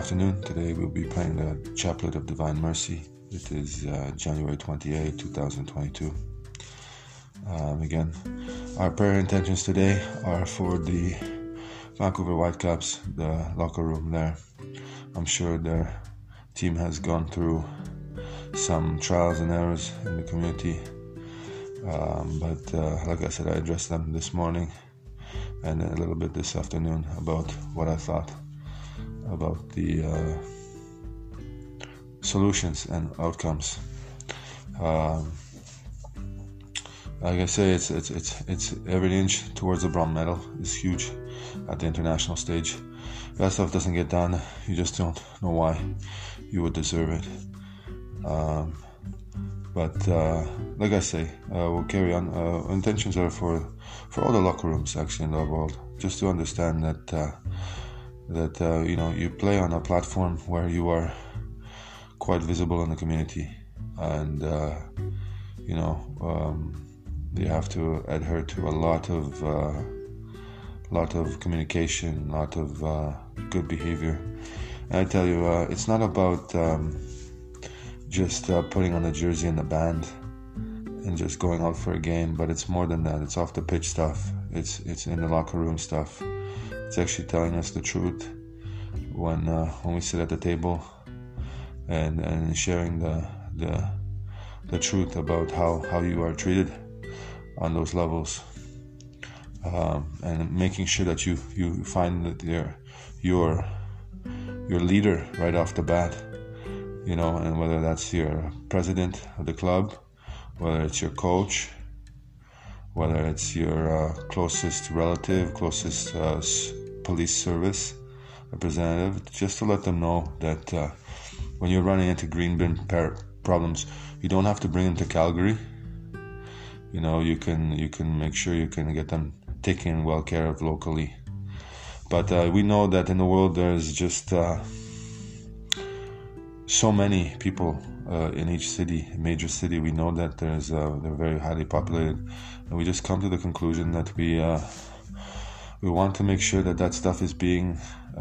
afternoon. Today we'll be praying the Chaplet of Divine Mercy. It is January 28, 2022. Again, our prayer intentions today are for the Vancouver Whitecaps, the locker room there. I'm sure their team has gone through some trials and errors in the community. But like I said, I addressed them this morning and a little bit this afternoon about what I thought about the solutions and outcomes. Like I say, it's every inch towards the bronze medal is huge at the international stage. If that stuff doesn't get done, you just don't know why you would deserve it. But like I say, we'll carry on. Intentions are for all the locker rooms actually in the world, just to understand that you play on a platform where you are quite visible in the community, and you have to adhere to a lot of communication, a lot of good behavior. And I tell you, it's not about just putting on the jersey and the band and just going out for a game, but it's more than that. It's off the pitch stuff. It's in the locker room stuff. It's actually telling us the truth when we sit at the table and sharing the truth about how you are treated on those levels, and making sure that you find that your leader right off the bat, and whether that's your president of the club, whether it's your coach, whether it's your closest relative, closest police service representative, just to let them know that when you're running into green bin problems, you don't have to bring them to Calgary. You can make sure you can get them taken well care of locally. But we know that in the world there's just so many people in each city, major city. We know that they're very highly populated, and we just come to the conclusion that we want to make sure that stuff is being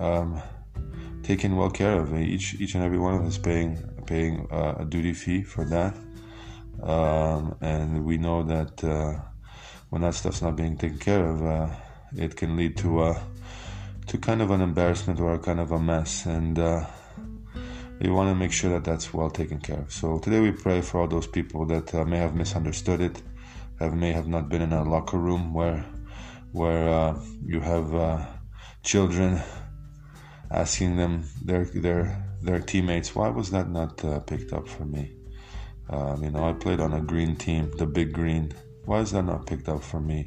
taken well care of. Each and every one of us paying a duty fee for that, and we know that when that stuff's not being taken care of, it can lead to kind of an embarrassment or a kind of a mess, and you want to make sure that that's well taken care of. So today we pray for all those people that may have misunderstood it, may have not been in a locker room where you have children asking them their teammates, why was that not picked up for me? I played on a green team, the big green. Why is that not picked up for me?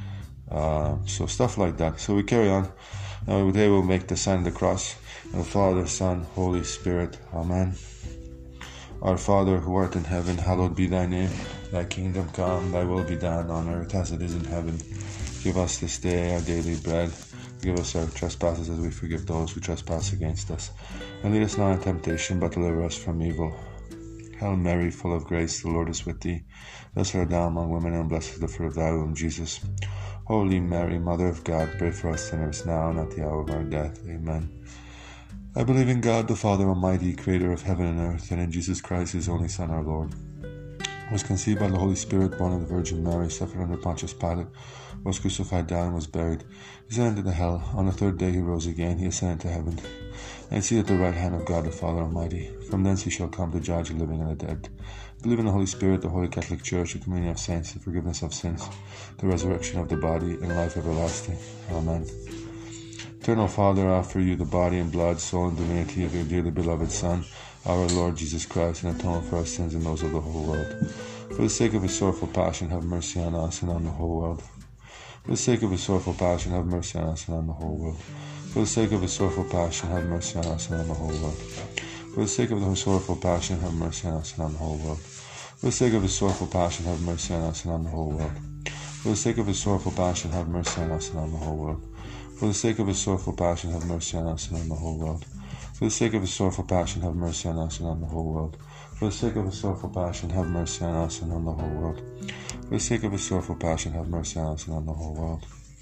So stuff like that. So we carry on. Today we'll make the sign of the cross. In the Father, Son, Holy Spirit. Amen. Our Father, who art in heaven, hallowed be thy name. Thy kingdom come, thy will be done on earth as it is in heaven. Give us this day our daily bread. Forgive us our trespasses as we forgive those who trespass against us. And lead us not into temptation, but deliver us from evil. Hail Mary, full of grace, the Lord is with thee. Blessed art thou among women, and blessed is the fruit of thy womb, Jesus. Holy Mary, Mother of God, pray for us sinners now and at the hour of our death. Amen. I believe in God, the Father Almighty, creator of heaven and earth, and in Jesus Christ, his only Son, our Lord, who was conceived by the Holy Spirit, born of the Virgin Mary, suffered under Pontius Pilate, was crucified, died, and was buried. He descended into hell. On the third day he rose again. He ascended to heaven, and is seated at the right hand of God, the Father Almighty. From thence he shall come to judge the living and the dead. I believe in the Holy Spirit, the Holy Catholic Church, the communion of saints, the forgiveness of sins, the resurrection of the body, and life everlasting. Amen. Eternal Father, I offer you the body and blood, soul, and divinity of your dearly beloved Son, our Lord Jesus Christ, and atone for our sins and those of the whole world. For the sake of his sorrowful passion, have mercy on us and on the whole world. For the sake of his sorrowful passion, have mercy on us and on the whole world. For the sake of his sorrowful passion, have mercy on us and on the whole world. For the sake of his sorrowful passion, have mercy on us and on the whole world. For the sake of his sorrowful passion, have mercy on us and on the whole world. For the sake of his sorrowful passion, have mercy on us and on the whole world. For the sake of his sorrowful passion, have mercy on us and on the whole world. For the sake of his sorrowful passion, have mercy on us and on the whole world. For the sake of his sorrowful passion, have mercy on us and on the whole world. For the sake of his sorrowful passion, have mercy on us and on the whole world.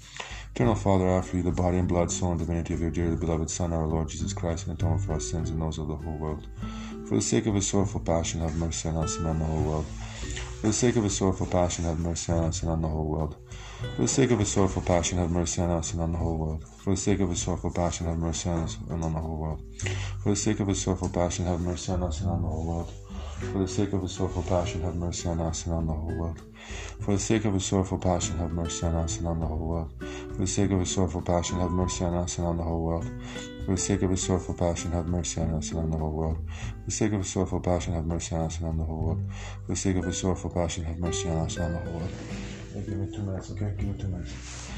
Eternal Father, I offer you the body and blood, soul, and divinity of your dearly beloved Son, our Lord Jesus Christ, and atone for our sins and those of the whole world. For the sake of his sorrowful passion, have mercy on us and on the whole world. For the sake of his sorrowful passion, have mercy on us and on the whole world. For the sake of his sorrowful passion, have mercy on us and on the whole world. For the sake of his sorrowful passion, have mercy on us and on the whole world. For the sake of his sorrowful passion, have mercy on us and on the whole world. For the sake of his sorrowful passion, have mercy on us and on the whole world. For the sake of his sorrowful passion, have mercy on us and on the whole world. For the sake of his sorrowful passion, have mercy on us and on the whole world. For the sake of his sorrowful passion, have mercy on us and on the whole world. For the sake of his sorrowful passion, have mercy on us and on the whole world. For the sake of his sorrowful passion, have mercy on us and on the whole world. Give me 2 minutes, okay? Give me 2 minutes.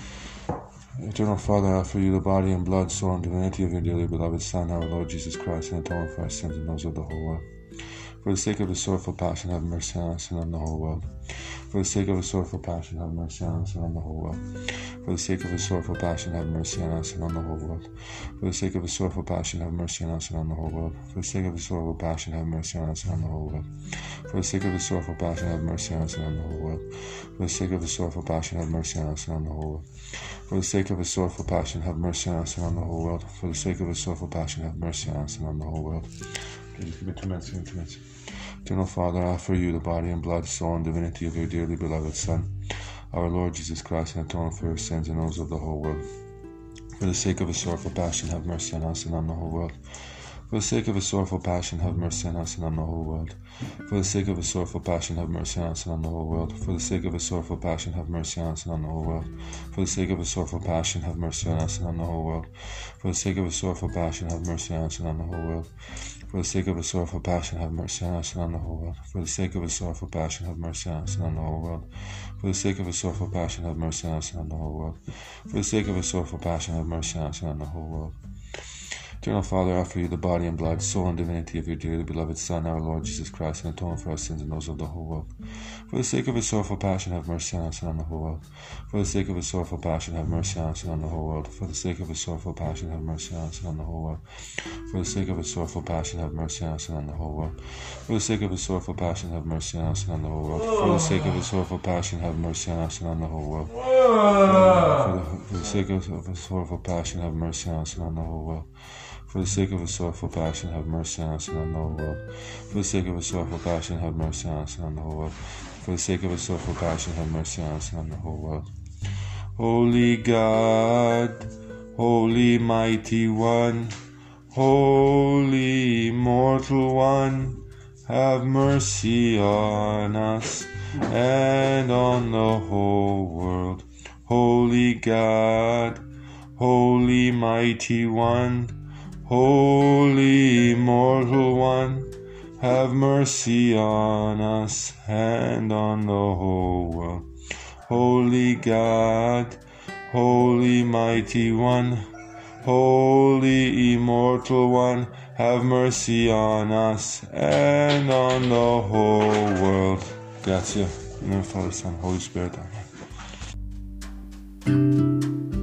Eternal Father, I offer you the body and blood, soul, and divinity of your dearly beloved Son, our Lord Jesus Christ, and atone for our sins and those of the whole world. For the sake of his sorrowful passion, have mercy on us and on the whole world. For the sake of his sorrowful passion, have mercy on us and on the whole world. For the sake of his sorrowful passion, have mercy on us and on the whole world. For the sake of his sorrowful passion, have mercy on us and on the whole world. For the sake of his sorrowful passion, have mercy on us and on the whole world. For the sake of his sorrowful passion, have mercy on us and on the whole world. For the sake of his sorrowful passion, have mercy on us and on the whole world. For the sake of his sorrowful passion, have mercy on us and on the whole world. For the sake of his sorrowful passion, have mercy on us and on the whole world. Okay, just give me 2 minutes, give me 2 minutes. Eternal Father, I offer you the body and blood, soul, and divinity of your dearly beloved Son, our Lord Jesus Christ, and atone for your sins and those of the whole world. For the sake of his sorrowful passion, have mercy on us and on the whole world. For the sake of his sorrowful passion, have mercy on us and on the whole world. For the sake of his sorrowful passion, have mercy on us and on the whole world. For the sake of his sorrowful passion, have mercy on us and on the whole world. For the sake of his sorrowful passion, have mercy on us and on the whole world. For the sake of his sorrowful passion, have mercy on us and on the whole world. For the sake of his sorrowful passion, have mercy on us and on the whole world. For the sake of his sorrowful passion, have mercy on us and on the whole world. For the sake of his sorrowful passion, have mercy on us and on the whole world. For the sake of his sorrowful passion, have mercy on us and on the whole world. Eternal Father, I offer you the body and blood, soul, and divinity of your dearly beloved Son, our Lord Jesus Christ, and atone for our sins and those of the whole world. For the sake of his sorrowful passion, have mercy on us and on the whole world. For the sake of his sorrowful passion, have mercy on us and on the whole world. For the sake of his sorrowful passion, have mercy on us and on the whole world. For the sake of his sorrowful passion, have mercy on us and on the whole world. For the sake of his sorrowful passion, have mercy on us and on the whole world. For the sake of his sorrowful passion, have mercy on us and on the whole world. For the sake of his sorrowful passion, have mercy on us and on the whole world. For the sake of his sorrowful passion, have mercy on us and on the whole world. For the sake of his sorrowful passion, have mercy on us and on the whole world. For the sake of his sorrowful passion, have mercy on us and on the whole world. Holy God, Holy Mighty One, Holy Immortal One, have mercy on us and on the whole world. Holy God, Holy Mighty One, Holy Immortal One, have mercy on us and on the whole world. Holy God, Holy Mighty One, Holy Immortal One, have mercy on us and on the whole world. Grazie. In the name of the Father, Son, Holy Spirit. Amen.